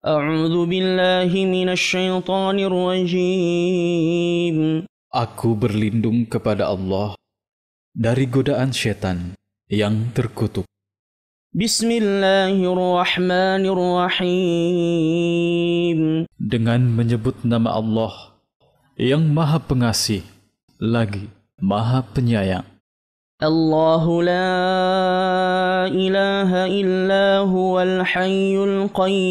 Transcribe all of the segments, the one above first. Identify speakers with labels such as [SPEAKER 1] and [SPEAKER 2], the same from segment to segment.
[SPEAKER 1] أعوذ بالله من الشيطان الرجيم.
[SPEAKER 2] Aku berlindung kepada Allah dari godaan setan yang terkutuk.
[SPEAKER 1] Bismillahirrahmanirrahim.
[SPEAKER 2] Dengan menyebut nama Allah yang Maha Pengasih lagi Maha Penyayang.
[SPEAKER 1] Allahu la ilaha illa huwal hayyul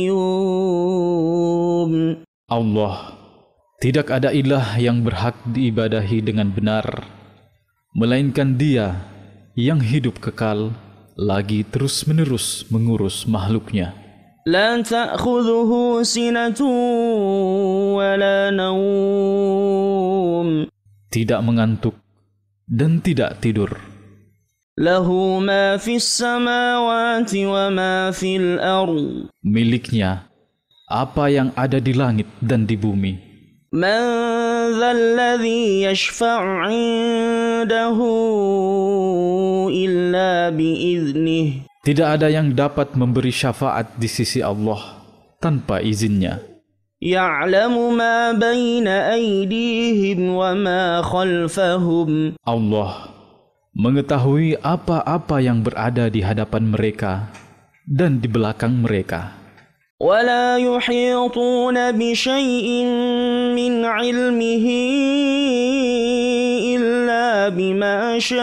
[SPEAKER 1] qayyum.
[SPEAKER 2] Allah, tidak ada ilah yang berhak diibadahi dengan benar, melainkan Dia yang hidup kekal, lagi terus-menerus mengurus makhluknya.
[SPEAKER 1] La ta'khudhuhu sinatun wa la nawm.
[SPEAKER 2] Tidak mengantuk dan tidak tidur.
[SPEAKER 1] Lahu ma fis samawati wa ma fil ardh.
[SPEAKER 2] Miliknya apa yang ada di langit dan di bumi.
[SPEAKER 1] Man dhal ladzi yashfa'u 'indahu illa bi'idhnih.
[SPEAKER 2] Tidak ada yang dapat memberi syafaat di sisi Allah tanpa izinnya.
[SPEAKER 1] Ya'lamu ma baina aydihim wa ma khalfahum.
[SPEAKER 2] Allah mengetahui apa-apa yang berada di hadapan mereka dan di belakang mereka.
[SPEAKER 1] ولا يحيطون بشيء من علمه إلا بما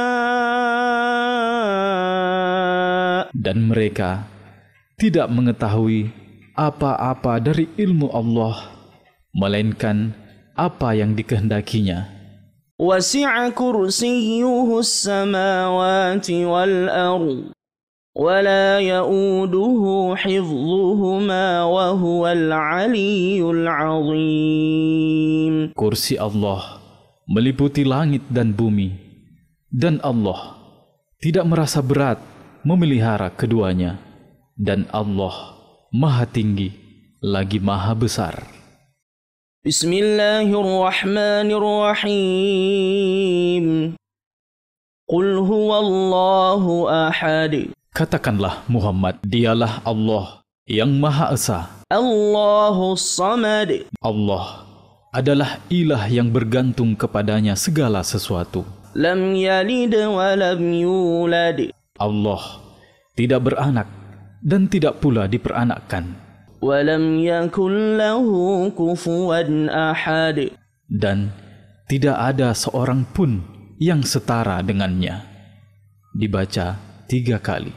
[SPEAKER 1] شاء.
[SPEAKER 2] Dan mereka tidak mengetahui apa-apa dari ilmu Allah melainkan apa yang dikehendakinya.
[SPEAKER 1] وسع كرسيه السماوات والأرض ولا يؤوده حفظهما وهو العلي العظيم.
[SPEAKER 2] Kursi Allah meliputi langit dan bumi, dan Allah tidak merasa berat memelihara keduanya, dan Allah Maha Tinggi lagi Maha Besar.
[SPEAKER 1] Bismillahirrahmanirrahim. Qul huwallahu ahad.
[SPEAKER 2] Katakanlah Muhammad, dialah Allah yang Maha Esa.
[SPEAKER 1] Allahus samad.
[SPEAKER 2] Allah adalah ilah yang bergantung kepadanya segala sesuatu.
[SPEAKER 1] Lam yalid wa lam yulad.
[SPEAKER 2] Allah tidak beranak dan tidak pula diperanakkan.
[SPEAKER 1] Wa lam yakul lahu kufuwan ahad.
[SPEAKER 2] Dan tidak ada seorang pun yang setara dengannya. Dibaca 3 kali.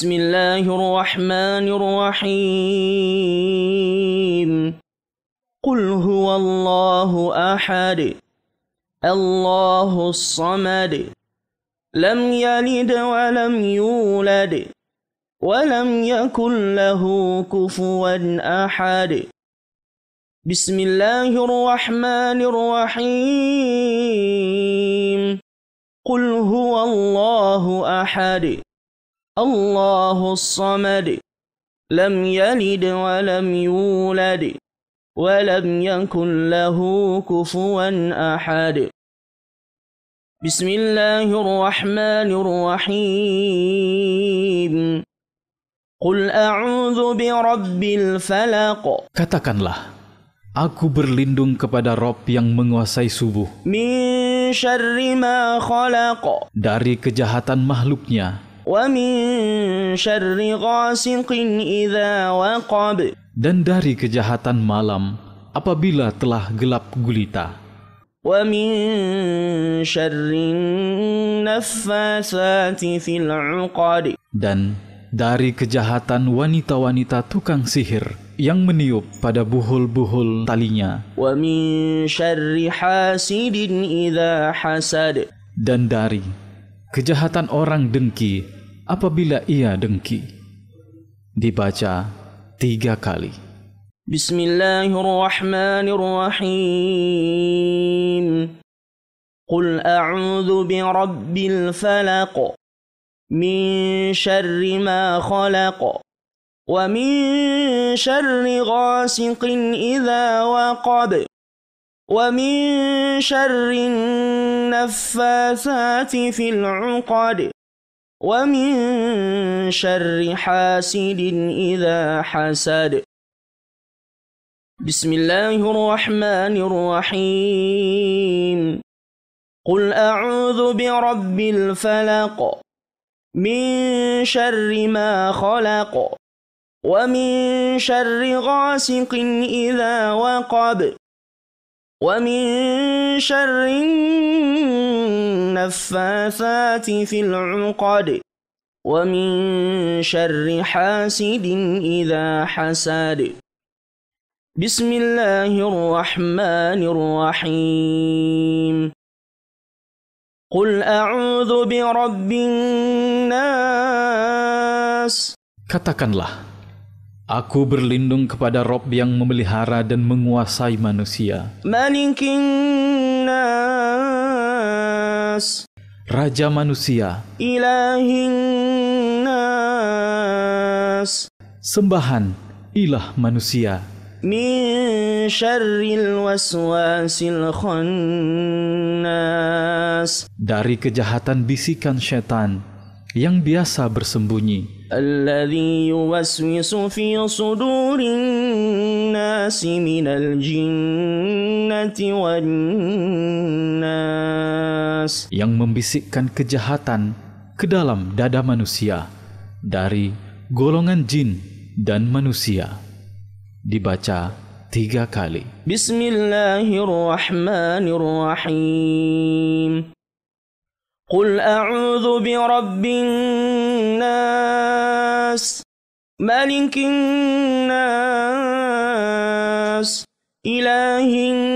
[SPEAKER 1] Bismillahirrahmanirrahim. Qul huwallahu ahad. Allahus samad. Lam yalid wa lam yulad. ولم يكن له كفوا أحد. بسم الله الرحمن الرحيم. قل هو الله أحد. الله الصمد. لم يلد ولم يولد. ولم يكن له كفوا أحد. بسم الله الرحمن الرحيم. Qul a'udzu birabbil falaq.
[SPEAKER 2] Katakanlah, aku berlindung kepada Rabb yang menguasai subuh.
[SPEAKER 1] Min syarri ma khalaq.
[SPEAKER 2] Dari kejahatan makhluknya.
[SPEAKER 1] Wa min syarri ghasiqin idza waqab.
[SPEAKER 2] Dan dari kejahatan malam apabila telah gelap gulita.
[SPEAKER 1] Wa min syarri naffatsati fil 'uqad.
[SPEAKER 2] Dan dari kejahatan wanita-wanita tukang sihir yang meniup pada buhul-buhul talinya.
[SPEAKER 1] Wa min syarri hasidin idza hasad.
[SPEAKER 2] Dan dari kejahatan orang dengki apabila ia dengki. Dibaca 3 kali.
[SPEAKER 1] Bismillahirrahmanirrahim. Qul a'udzu birabbil falaq. من شر ما خلق ومن شر غاسق إذا وقب ومن شر النفاثات في العقد ومن شر حاسد إذا حسد. بسم الله الرحمن الرحيم قل أعوذ برب الفلق من شر ما خلق ومن شر غاسق إذا وقب ومن شر النفاثات في العقد ومن شر حاسد إذا حسد بسم الله الرحمن الرحيم قل أعوذ برب الناس
[SPEAKER 2] Katakanlah, aku berlindung kepada Rob yang memelihara dan menguasai manusia,
[SPEAKER 1] ملك الناس
[SPEAKER 2] Raja manusia,
[SPEAKER 1] إله الناس
[SPEAKER 2] sembahan ilah manusia,
[SPEAKER 1] من شر الوسواس الخناس
[SPEAKER 2] dari kejahatan bisikan setan yang biasa bersembunyi,
[SPEAKER 1] الذي يوسوس في صدور الناس من الجنة والناس
[SPEAKER 2] yang membisikkan kejahatan ke dalam dada manusia dari golongan jin dan manusia. Dibaca 3 kali.
[SPEAKER 1] بسم الله الرحمن الرحيم قل أعوذ برب الناس ملك الناس إله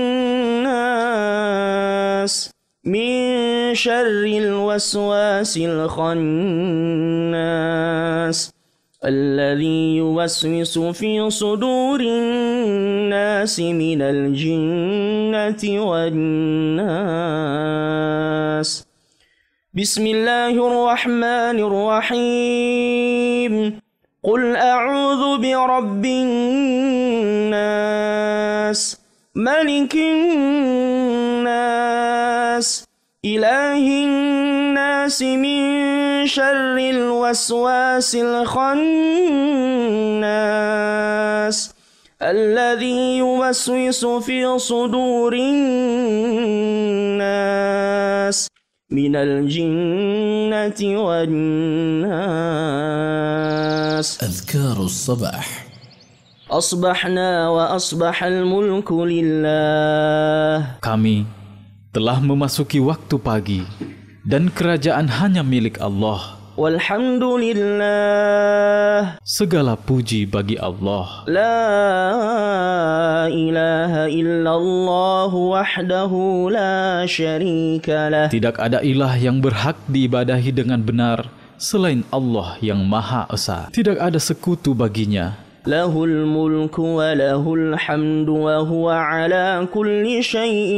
[SPEAKER 1] الناس من شر الوسواس الخناس الذي يوسوس في صدور الناس من الجنة والناس بسم الله الرحمن الرحيم قل أعوذ برب الناس ملك الناس إله الناس من شر الوسواس الخناس الذي يوسوس في صدور الناس من الجنة والناس
[SPEAKER 3] أذكار الصباح.
[SPEAKER 1] أصبحنا وأصبح الملك لله
[SPEAKER 2] Kami telah memasuki waktu pagi dan kerajaan hanya milik Allah.
[SPEAKER 1] والحمد لله
[SPEAKER 2] Segala puji bagi Allah.
[SPEAKER 1] لا إله إلا الله وحده لا شريك له
[SPEAKER 2] Tidak ada ilah yang berhak diibadahi dengan benar selain Allah yang Maha Esa. Tidak ada sekutu baginya.
[SPEAKER 1] له الملك وله الحمد وهو على كل شيء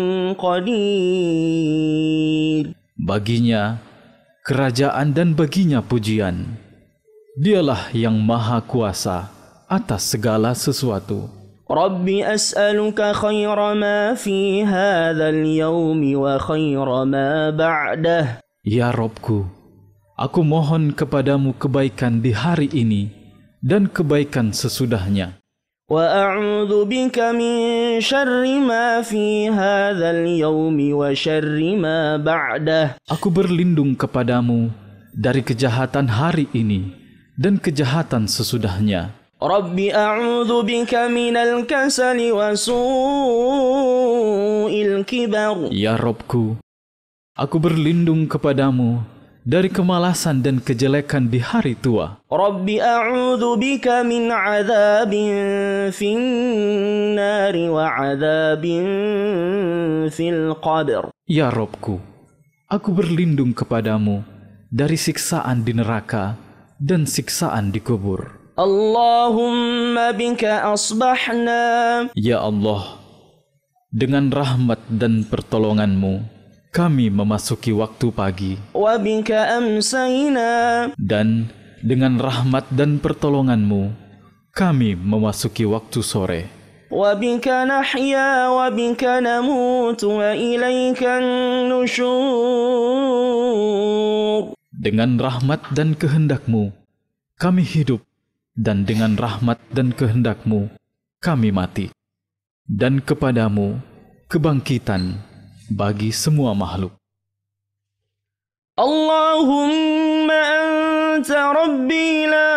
[SPEAKER 1] قدير
[SPEAKER 2] Baginya kerajaan dan baginya pujian. Dialah yang Maha Kuasa atas segala sesuatu.
[SPEAKER 1] رب أسألك خير ما في هذا اليوم وخير ما بعده
[SPEAKER 2] Ya Robku, aku mohon kepadamu kebaikan di hari ini dan kebaikan sesudahnya.
[SPEAKER 1] وأعوذ بك من شر ما في هذا اليوم وشر ما بعده
[SPEAKER 2] Aku berlindung kepadamu dari kejahatan hari ini dan kejahatan sesudahnya.
[SPEAKER 1] رب أعوذ بك من الكسل وسوء الكبر
[SPEAKER 2] Ya Robku, aku berlindung kepadamu dari kemalasan dan kejelekan di hari tua.
[SPEAKER 1] رب أعوذ بك من عذاب في النار وعذاب في القبر
[SPEAKER 2] Ya Robku, aku berlindung kepadamu dari siksaan di neraka dan siksaan di kubur.
[SPEAKER 1] اللهم بك أصبحنا
[SPEAKER 2] Ya Allah, dengan rahmat dan pertolonganmu, kami memasuki waktu pagi,
[SPEAKER 1] وبك أمسينا
[SPEAKER 2] dan dengan rahmat dan pertolonganmu, kami memasuki waktu sore.
[SPEAKER 1] وبك نحيا وبك نموت وإليك النشور
[SPEAKER 2] Dengan rahmat dan kehendakmu, kami hidup, dan dengan rahmat dan kehendakmu, kami mati. dan kepadamu kebangkitan bagi semua makhluk.
[SPEAKER 1] Allahumma anta rabbi la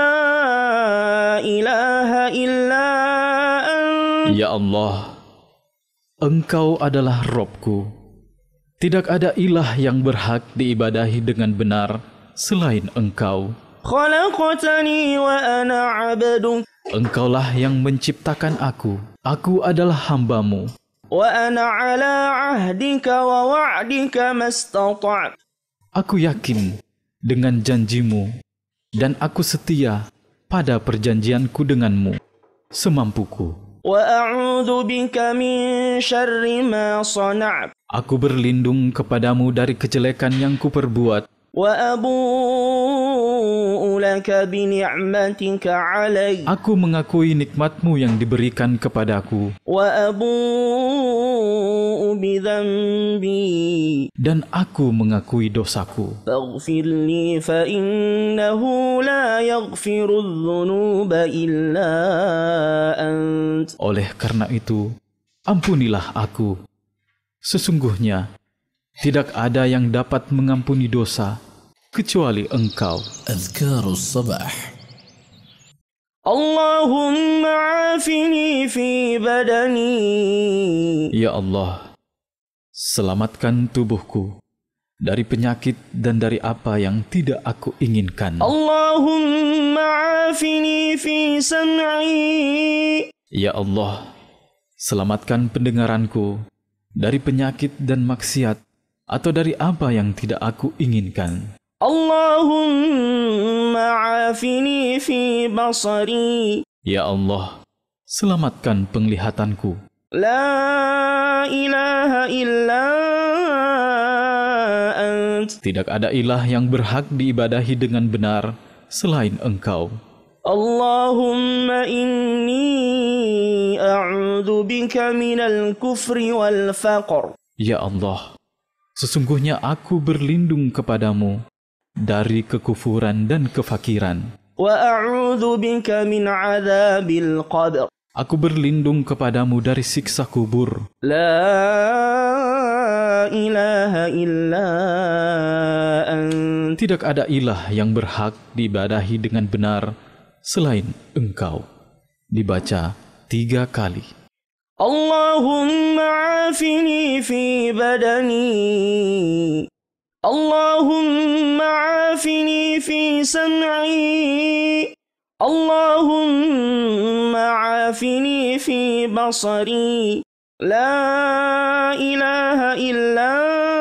[SPEAKER 1] ilaha illa anta.
[SPEAKER 2] Ya Allah, Engkau adalah Robku. Tidak ada ilah yang berhak diibadahi dengan benar selain Engkau.
[SPEAKER 1] Khalaqtani wa ana 'abduk.
[SPEAKER 2] Engkaulah yang menciptakan aku. Aku adalah hamba-Mu.
[SPEAKER 1] Wa ana 'ala 'ahdika wa wa'dika mastata'tu.
[SPEAKER 2] Aku yakin dengan janji-Mu dan aku setia pada perjanjianku dengan-Mu semampuku.
[SPEAKER 1] Wa a'udzu bika min syarri ma sana'tu.
[SPEAKER 2] Aku berlindung kepadamu dari kejelekan yang kuperbuat.
[SPEAKER 1] Wa abu'u laka bi ni'matika 'alayya.
[SPEAKER 2] Aku mengakui nikmat-Mu yang diberikan kepadaku.
[SPEAKER 1] Wa abu'u bi dhanbi.
[SPEAKER 2] Dan aku mengakui dosaku.
[SPEAKER 1] Faghfir li fa innahu la yaghfiru adh-dhunuba illa ant.
[SPEAKER 2] Oleh karena itu, ampunilah aku. Sesungguhnya, tidak ada yang dapat mengampuni dosa kecuali Engkau.
[SPEAKER 3] Adhkarus sabah.
[SPEAKER 1] Allahumma afini fi badani.
[SPEAKER 2] Ya Allah, selamatkan tubuhku dari penyakit dan dari apa yang tidak aku inginkan.
[SPEAKER 1] Allahumma afini fi sam'i.
[SPEAKER 2] Ya Allah, selamatkan pendengaranku dari penyakit dan maksiat atau dari apa yang tidak aku inginkan.
[SPEAKER 1] Allahumma afini fi basari.
[SPEAKER 2] Ya Allah, selamatkan penglihatanku.
[SPEAKER 1] La ilaha illa ant.
[SPEAKER 2] Tidak ada ilah yang berhak diibadahi dengan benar selain Engkau.
[SPEAKER 1] Allahumma inni a'udzu bika minal kufri wal faqr.
[SPEAKER 2] Ya Allah, sesungguhnya aku berlindung kepadamu dari kekufuran dan kefakiran.
[SPEAKER 1] Wa a'udzu bika min 'adzabil qabr.
[SPEAKER 2] Aku berlindung kepadamu dari siksa kubur.
[SPEAKER 1] La ilaha illa ant.
[SPEAKER 2] Tidak ada ilah yang berhak diibadahi dengan benar selain Engkau. Dibaca 3 kali.
[SPEAKER 1] Allahumma afini fi badani. Allahumma afini fi sam'i. Allahumma afini fi basari. La ilaha illa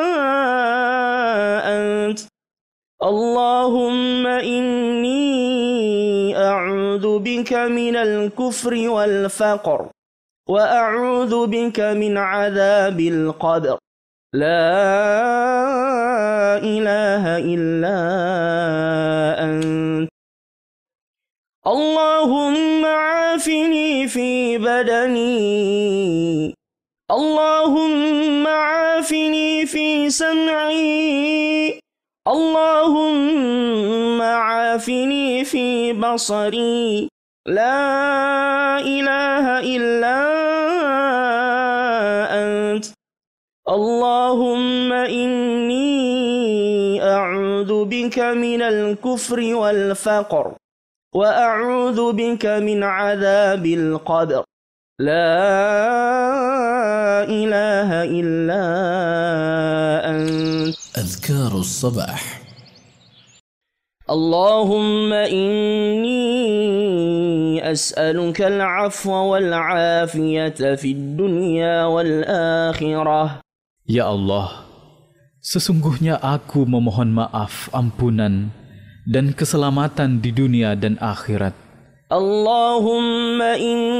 [SPEAKER 1] ant. Allahumma inni a'udzu bika minal kufri wal faqr. Wa a'udzu bika min 'adzabil qabr. La ilaha illa ant. Allahumma afini fi badani. Allahumma afini fi sam'i. Allahumma afini fi basari. La ilaha illa ant. Allahumma inni a'udzu bika minal kufri wal faqr. Wa a'udzu bika min 'adzabil qabr. La ilaha illa ant.
[SPEAKER 3] Adhkarus sabah.
[SPEAKER 1] Allahumma inni as'aluka al-'afwa wal-'afiyata fid dunya wal akhirah.
[SPEAKER 2] Ya Allah, sesungguhnya aku memohon maaf, ampunan, dan keselamatan di dunia dan akhirat.
[SPEAKER 1] Allahumma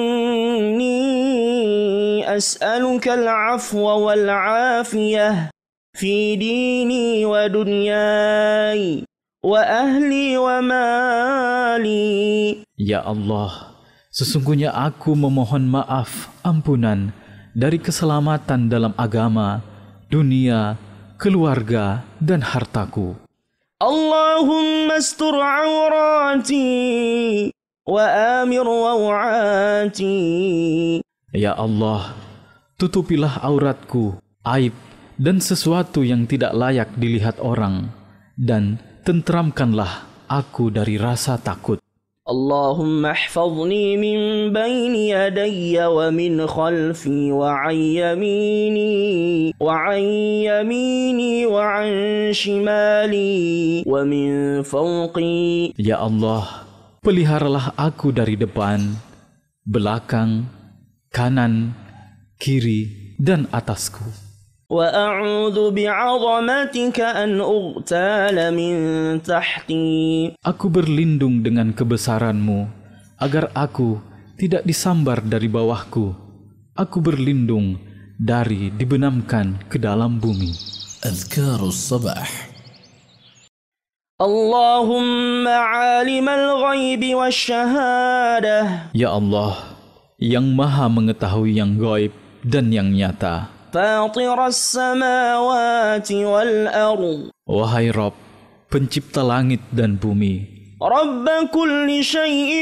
[SPEAKER 1] inni as'aluka al-'afwa wal-'afiyah fi dini wa dunyai wa ahli wa mali.
[SPEAKER 2] Ya Allah, sesungguhnya aku memohon maaf, ampunan, dari keselamatan dalam agama, dunia, keluarga, dan hartaku.
[SPEAKER 1] Allahumma astur awrati wa amir rawati
[SPEAKER 2] Ya Allah, tutupilah auratku, aib dan sesuatu yang tidak layak dilihat orang, dan tentramkanlah aku dari rasa takut.
[SPEAKER 1] اللهم احفظني من بين يدي ومن خلفي وعن يميني وعن شمالي ومن فوقي.
[SPEAKER 2] Ya Allah, peliharalah aku dari depan, belakang, kanan, kiri, dan atasku.
[SPEAKER 1] وأعوذ بعظمتك أن أغتال من تحتي.
[SPEAKER 2] Aku berlindung dengan kebesaran-Mu, agar aku tidak disambar dari bawahku. Aku berlindung dari dibenamkan ke dalam bumi.
[SPEAKER 3] أذكار الصباح.
[SPEAKER 1] اللهم عالم الغيب والشهادة.
[SPEAKER 2] Ya Allah, yang maha mengetahui yang gaib dan yang nyata.
[SPEAKER 1] فاطر السماوات والأرض.
[SPEAKER 2] Wahai Rabb, pencipta langit dan bumi.
[SPEAKER 1] رب كل شيء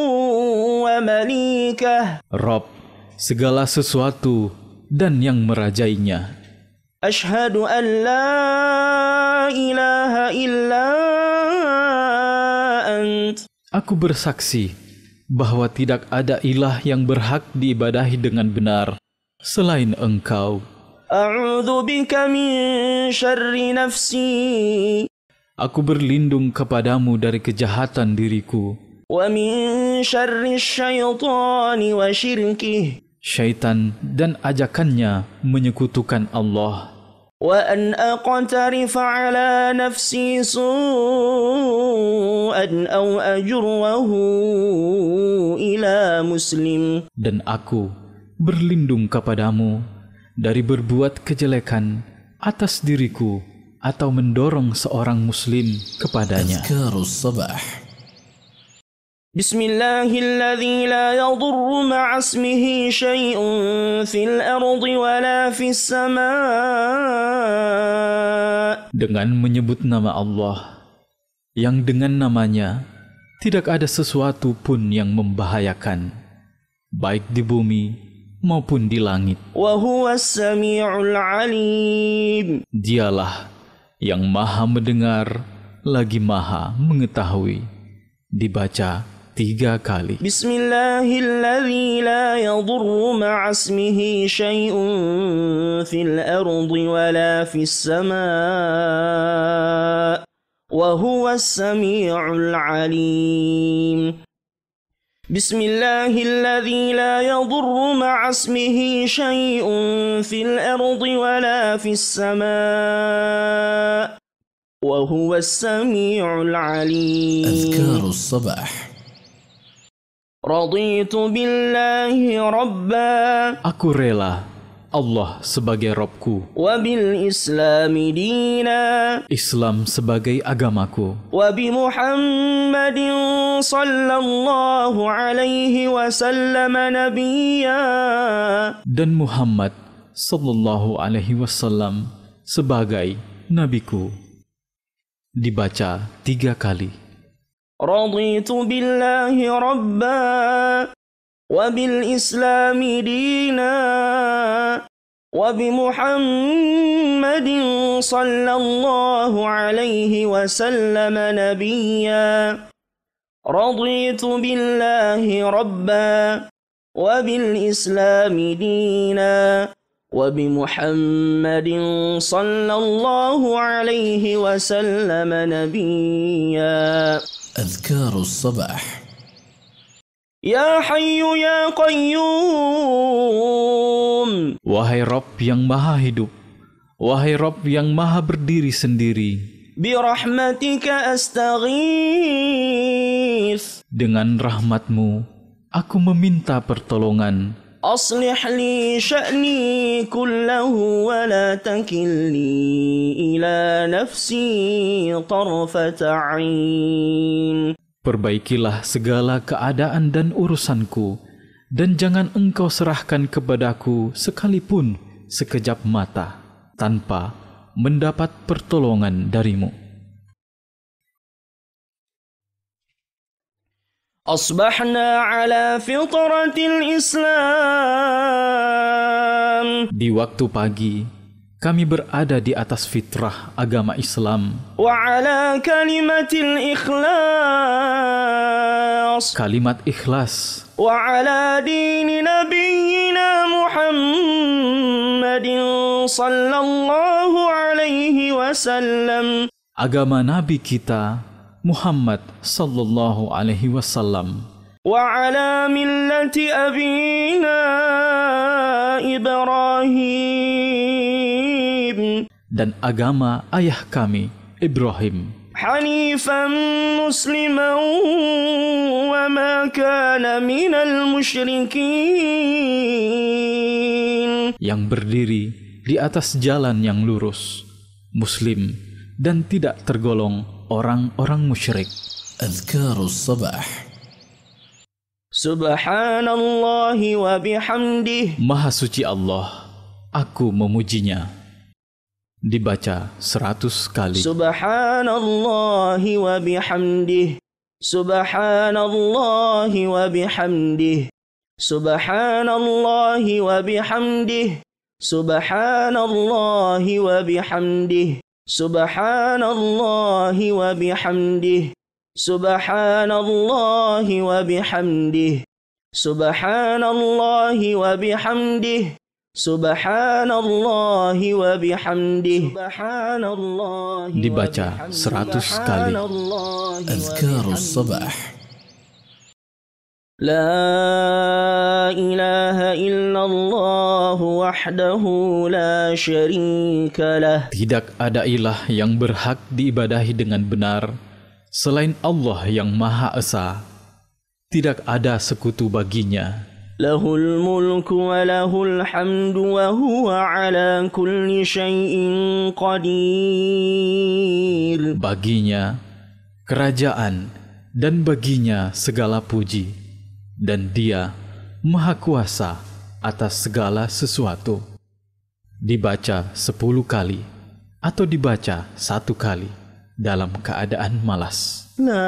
[SPEAKER 1] ومليكه.
[SPEAKER 2] Rabb, segala sesuatu dan yang merajainya.
[SPEAKER 1] أشهد أن لا إله إلا أنت.
[SPEAKER 2] Aku bersaksi bahwa tidak ada ilah yang berhak diibadahi dengan benar selain Engkau.
[SPEAKER 1] أعوذ بك من شر نفسي.
[SPEAKER 2] Aku berlindung kepadamu dari kejahatan diriku,
[SPEAKER 1] ومن شر الشيطان وشركه.
[SPEAKER 2] syaitan dan ajakannya menyekutukan Allah.
[SPEAKER 1] وأن أقترف على نفسي سوءا أو أجره إلى مسلم.
[SPEAKER 2] Dan aku berlindung kepadamu dari berbuat kejelekan atas diriku atau mendorong seorang muslim kepadanya.
[SPEAKER 3] أذكار الصباح.
[SPEAKER 1] بسم الله الذي لا يضر مع اسمه شيء في الأرض ولا في السماء.
[SPEAKER 2] Dengan menyebut nama Allah, yang dengan namanya tidak ada sesuatu pun yang membahayakan, baik di bumi maupun di langit.
[SPEAKER 1] وهو السميع العليم.
[SPEAKER 2] Dialah yang maha mendengar lagi maha mengetahui. Dibaca 3 kali.
[SPEAKER 1] بسم الله الذي لا يضر مع اسمه شيء في الأرض ولا في السماء وهو السميع العليم. بسم الله الذي لا يضر مع اسمه شيء في الأرض ولا في السماء وهو السميع العليم.
[SPEAKER 3] أذكار الصباح.
[SPEAKER 1] رضيت بالله ربا.
[SPEAKER 2] Aku rela Allah sebagai Rabbku,
[SPEAKER 1] وبالإسلام دينا.
[SPEAKER 2] Islam sebagai agamaku,
[SPEAKER 1] وبمحمد صلى الله عليه وسلم نبيا.
[SPEAKER 2] dan Muhammad sallallahu alaihi wasallam sebagai nabiku. Dibaca 3 kali.
[SPEAKER 1] رضيت بالله ربا وبالإسلام دينا وبمحمد صلى الله عليه وسلم نبيا. رضيت بالله ربا وبالإسلام دينا وبمحمد صلى الله عليه وسلم نبيا.
[SPEAKER 3] أذكار الصباح.
[SPEAKER 1] يا حي يا قيوم.
[SPEAKER 2] Wahai Rabb yang maha hidup, wahai Rabb yang maha berdiri sendiri,
[SPEAKER 1] برحمتك أستغيث.
[SPEAKER 2] dengan rahmat-Mu aku meminta pertolongan.
[SPEAKER 1] أصلح لي شأني كله ولا تكلني إلى نفسي طرفة عين.
[SPEAKER 2] Perbaikilah segala keadaan dan urusanku, dan jangan Engkau serahkan kepadaku sekalipun sekejap mata, tanpa mendapat pertolongan dari-Mu.
[SPEAKER 1] أصبحنا على فطرة الإسلام.
[SPEAKER 2] Di waktu pagi, kami berada di atas fitrah agama Islam.
[SPEAKER 1] وعلى كلمة الإخلاص.
[SPEAKER 2] Kalimat ikhlas.
[SPEAKER 1] وعلى دين نبينا محمد صلى الله عليه وسلم.
[SPEAKER 2] Agama Nabi kita Muhammad sallallahu alaihi wasallam.
[SPEAKER 1] وعلى ملة أبينا إبراهيم.
[SPEAKER 2] Dan agama ayah kami Ibrahim.
[SPEAKER 1] حنيفا مسلما وما كان من المشركين.
[SPEAKER 2] Yang berdiri di atas jalan yang lurus, Muslim, dan tidak tergolong orang-orang musyrik.
[SPEAKER 3] أذكار الصباح.
[SPEAKER 1] سبحان الله وبحمده.
[SPEAKER 2] Maha suci Allah, aku memujinya. Dibaca 100 kali.
[SPEAKER 1] سبحان الله وبحمده. سبحان الله وبحمده. سبحان الله وبحمده. سبحان الله وبحمده. سبحان الله وبحمده. سبحان الله وبحمده. سبحان الله وبحمده. سبحان الله وبحمده. سبحان الله.
[SPEAKER 2] Dibaca 100 kali.
[SPEAKER 3] أذكار الصباح.
[SPEAKER 1] لا إله إلا الله وحده لا شريك له.
[SPEAKER 2] Tidak ada ilah yang berhak diibadahi dengan benar selain Allah yang Maha Esa. Tidak ada sekutu baginya.
[SPEAKER 1] له الملك وله الحمد وهو على كل شيء قدير.
[SPEAKER 2] Baginya kerajaan dan baginya segala puji, dan Dia Maha Kuasa atas segala sesuatu. Dibaca 10 kali atau dibaca 1 kali dalam keadaan malas.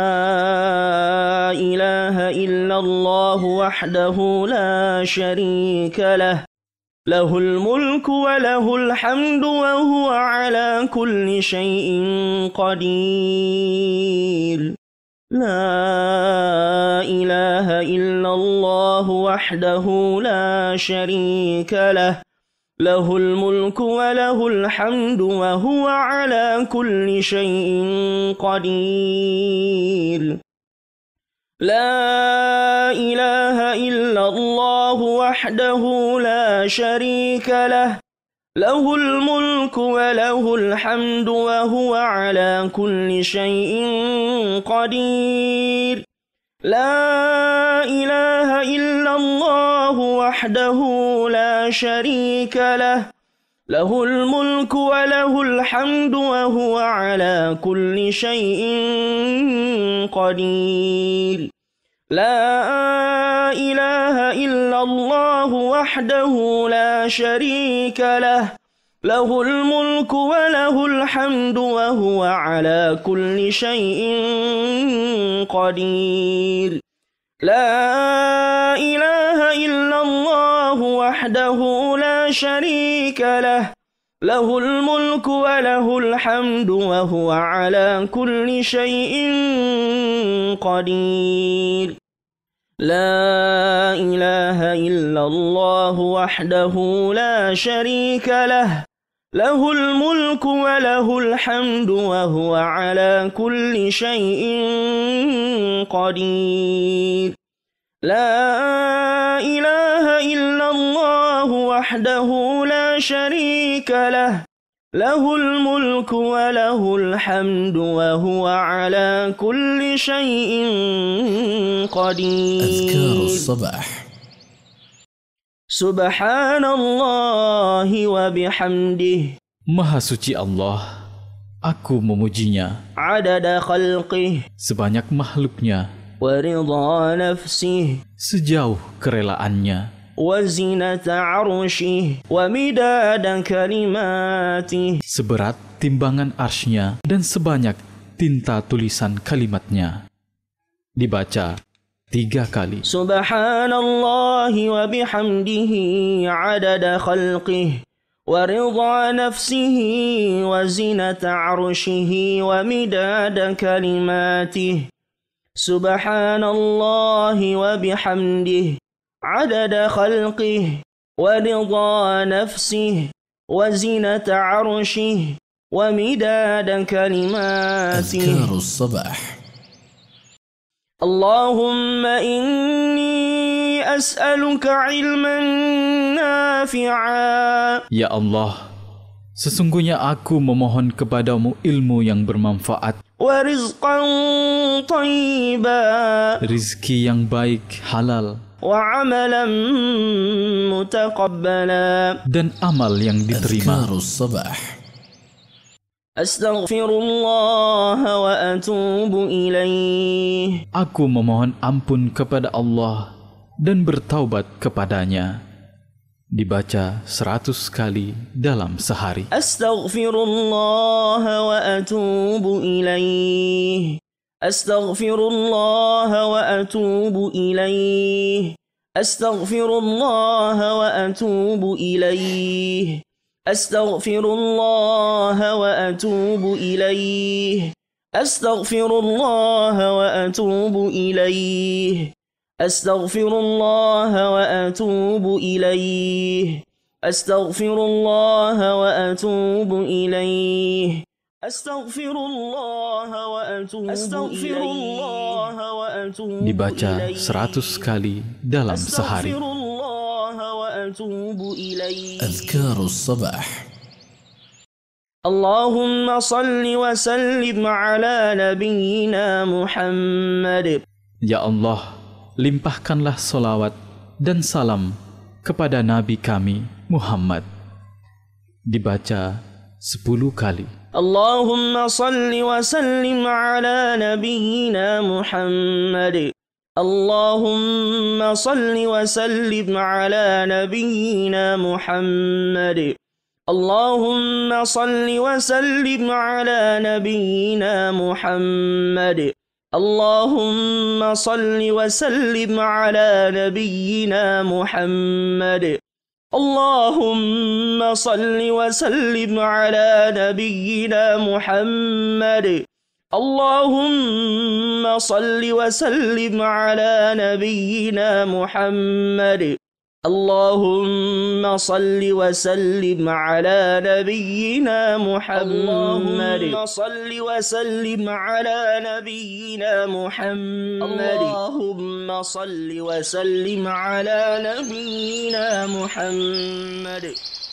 [SPEAKER 1] لا إله إلا الله وحده لا شريك له. له الملك وله الحمد وهو على كل شيء قدير. لا إله إلا الله وحده لا شريك له. له الملك وله الحمد وهو على كل شيء قدير. لا إله إلا الله وحده لا شريك له. له الملك وله الحمد وهو على كل شيء قدير. لا إله إلا الله وحده لا شريك له. له الملك وله الحمد وهو على كل شيء قدير. لا إله إلا الله وحده لا شريك له. له الملك وله الحمد وهو على كل شيء قدير. لا إله إلا الله وحده لا شريك له. له الملك وله الحمد وهو على كل شيء قدير. لا إله إلا الله وحده لا شريك له. له الملك وله الحمد وهو على كل شيء قدير. لا إله إلا الله وحده لا شريك له. له الملك وله الحمد وهو على كل شيء قدير.
[SPEAKER 3] أذكار الصباح.
[SPEAKER 1] سبحان الله وبحمده.
[SPEAKER 2] Maha suci Allah, aku memujinya.
[SPEAKER 1] عدد خلقه.
[SPEAKER 2] Sebanyak makhluknya,
[SPEAKER 1] ورضا نفسه.
[SPEAKER 2] sejauh kerelaannya,
[SPEAKER 1] وزنة عرشه. ومداد كلماته.
[SPEAKER 2] seberat timbangan arsy-Nya dan sebanyak tinta tulisan kalimatnya. Dibaca 3 kali.
[SPEAKER 1] Subhanallahi wa bihamdihi adada khalqih wa ridha nafsihi wa zinata arshihi wa midada kalimatih. Subhanallahi wa bihamdihi adada khalqih wa ridha nafsihi wa zinata arshihi wa midada kalimatih.
[SPEAKER 3] أذكار الصباح.
[SPEAKER 1] اللهم إني أسألك علما نافعا.
[SPEAKER 2] Ya Allah, sesungguhnya aku memohon kepadamu ilmu yang bermanfaat,
[SPEAKER 1] ورزقا طيبا.
[SPEAKER 2] rizki yang baik, halal,
[SPEAKER 1] وعملا متقبلا.
[SPEAKER 2] dan amal yang diterima.
[SPEAKER 3] أذكار الصباح.
[SPEAKER 1] أستغفر الله وأتوب إليه.
[SPEAKER 2] Aku memohon ampun kepada Allah dan bertaubat kepadanya. Dibaca 100 kali dalam sehari.
[SPEAKER 1] أستغفر الله وأتوب إليه. أستغفر الله وأتوب إليه. أستغفر الله وأتوب إليه. أستغفر الله وأتوب إليه. أستغفر الله وأتوب إليه. أستغفر الله وأتوب إليه. أستغفر الله وأتوب إليه. أستغفر الله وأتوب إليه.
[SPEAKER 2] Dibaca 100 kali dalam sehari.
[SPEAKER 1] أستغفر الله وأتوب إليه.
[SPEAKER 3] أذكار الصباح.
[SPEAKER 1] اللهم صل وسلم على نبينا محمد.
[SPEAKER 2] Ya Allah, limpahkanlah solawat dan salam kepada Nabi kami Muhammad. Dibaca 10 kali.
[SPEAKER 1] اللهم صل وسلم على نبينا محمد. اللهم صل وسلم على نبينا محمد. اللهم صل وسلم على نبينا محمد. اللهم صل وسلم على نبينا محمد. اللهم صل وسلم على نبينا محمد. اللهم صل وسلم على نبينا محمد. اللهم صل وسلم على نبينا محمد. اللهم صل وسلم على نبينا محمد. اللهم صل وسلم على نبينا محمد.